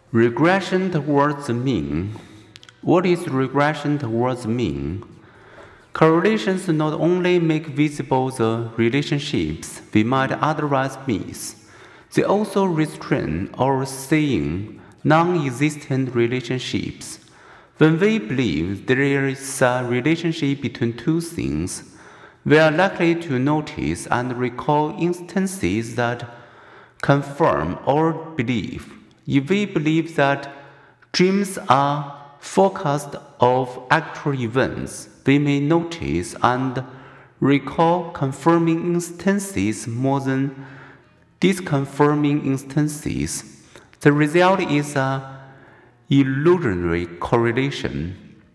Regression towards the mean. What is regression towards the mean? Correlations not only make visible the relationships we might otherwise miss, they also restrain or seeing non-existent relationships. When we believe there is a relationship between two things, we are likely to notice and recall instances that confirm our belief. If we believe that dreams are forecasts of actual events, we may notice and recall confirming instances more than disconfirming instances. The result is an illusory correlation.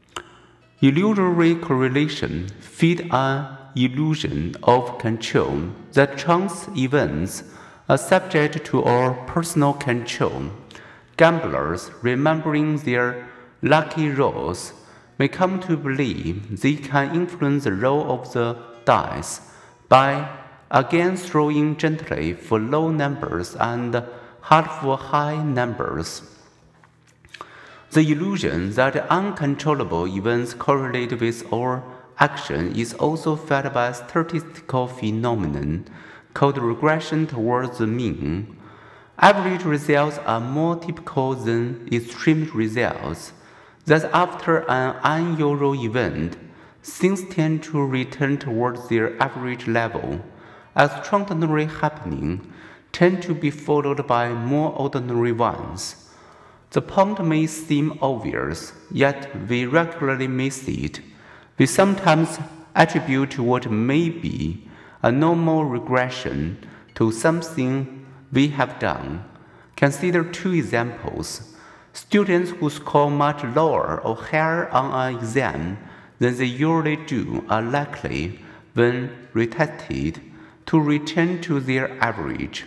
Illusory correlation feeds an illusion of control that chance events are subject to our personal control. Gamblers, remembering their lucky rolls, may come to believe they can influence the roll of the dice by again throwing gently for low numbers and hard for high numbers. The illusion that uncontrollable events correlate with our action is also fed by a statistical phenomenon called regression towards the mean. Average results are more typical than extreme results. That after an unusual event, things tend to return towards their average level. Extraordinary happenings tend to be followed by more ordinary ones. The point may seem obvious, yet we regularly miss it. We sometimes attribute what may be a normal regression to something we have done. Consider two examples. Students who score much lower or higher on an exam than they usually do are likely, when retested, to return to their average.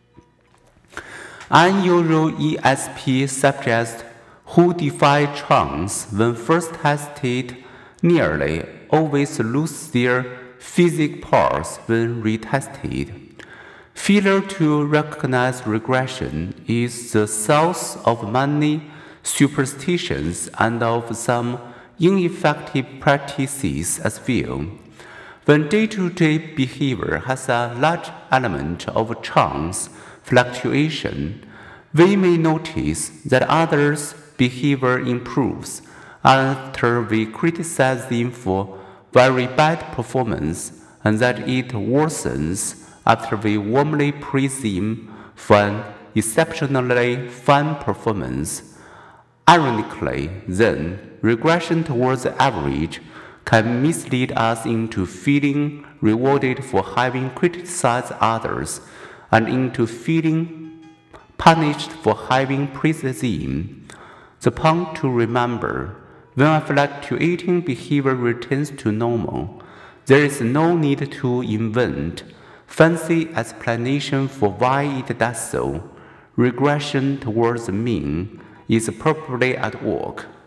Unusual ESP subjects who defy chance when first tested nearly always lose their physics parts when retested. Failure to recognize regression is the source of many superstitions and of some ineffective practices as well. When day-to-day behavior has a large element of chance fluctuation, we may notice that others' behavior improves after we criticize them for very bad performance, and that it worsens after we warmly praise them for an exceptionally fine performance. Ironically, then, regression towards the average can mislead us into feeling rewarded for having criticized others and into feeling punished for having praised them. The point to remember: when a fluctuating behavior returns to normal, there is no need to invent fancy explanation for why it does so. Regression towards the mean is probably at work.